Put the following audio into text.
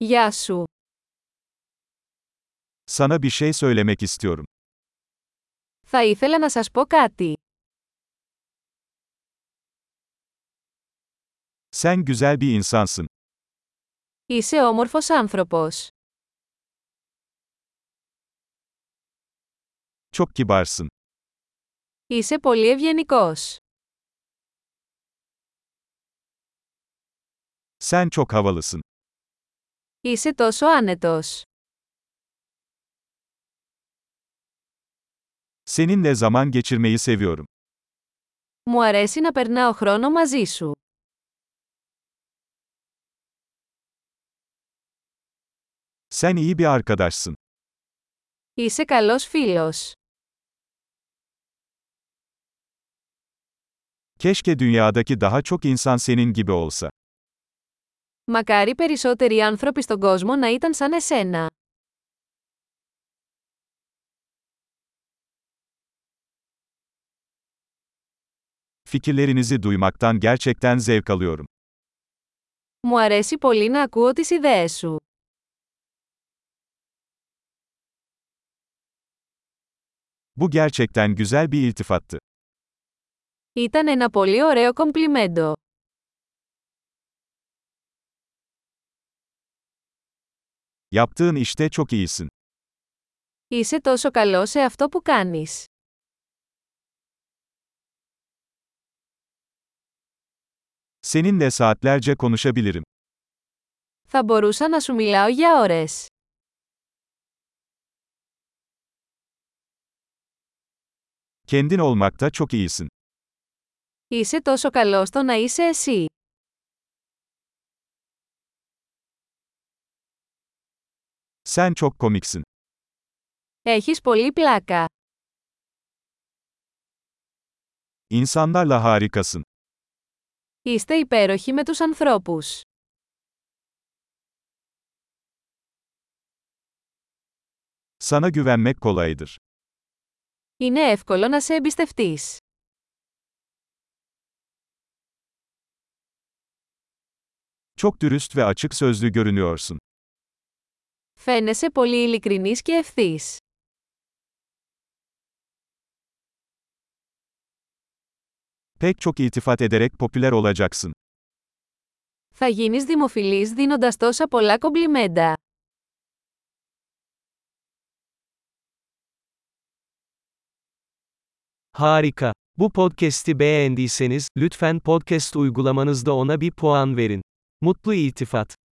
Γεια σου. Sana bir şey söylemek istiyorum. Θα ήθελα να σας πω κάτι. Sen güzel bir insansın. Είσαι όμορφος άνθρωπος. Çok kibarsın. Είσαι πολύ ευγενικός. Sen çok havalısın. Είσαι τόσο άνετος. Seninle zaman geçirmeyi seviyorum. Μου αρέσει να περνάω χρόνο μαζί σου. Sen iyi bir arkadaşsın. Είσαι καλός φίλος. Keşke dünyadaki daha çok insan senin gibi olsa. Μακάρι περισσότεροι άνθρωποι στον κόσμο να ήταν σαν εσένα. Fikirlerinizi duymaktan gerçekten zevk alıyorum. Μου αρέσει πολύ να ακούω τις ιδέες σου. Bu gerçekten güzel bir iltifattı. Ήταν ένα πολύ ωραίο κομπλιμέντο. Yaptığın işte çok iyisin. Είσαι τόσο καλός σε αυτό που κάνεις. Seninle saatlerce konuşabilirim. Θα μπορούσα να σου μιλάω για ώρες. Kendin olmakta çok iyisin. Είσαι τόσο καλός στο να είσαι εσύ. Sen çok komiksin. Έχεις πολύ πλάκα. İnsanlarla harikasın. Είστε υπέροχοι με τους ανθρώπους. Sana güvenmek kolaydır. Είναι εύκολο να σε εμπιστευτείς. Çok dürüst ve açık sözlü görünüyorsun. Φαίνεσαι πολύ ειλικρινής και ευθύς. Pek çok iltifat ederek popüler olacaksın. Θα γίνεις δημοφιλής δίνοντας τόσα πολλά κομπλιμέντα. Harika. Bu podcast'i beğendiyseniz, lütfen podcast uygulamanızda ona bir puan verin. Mutlu iltifat.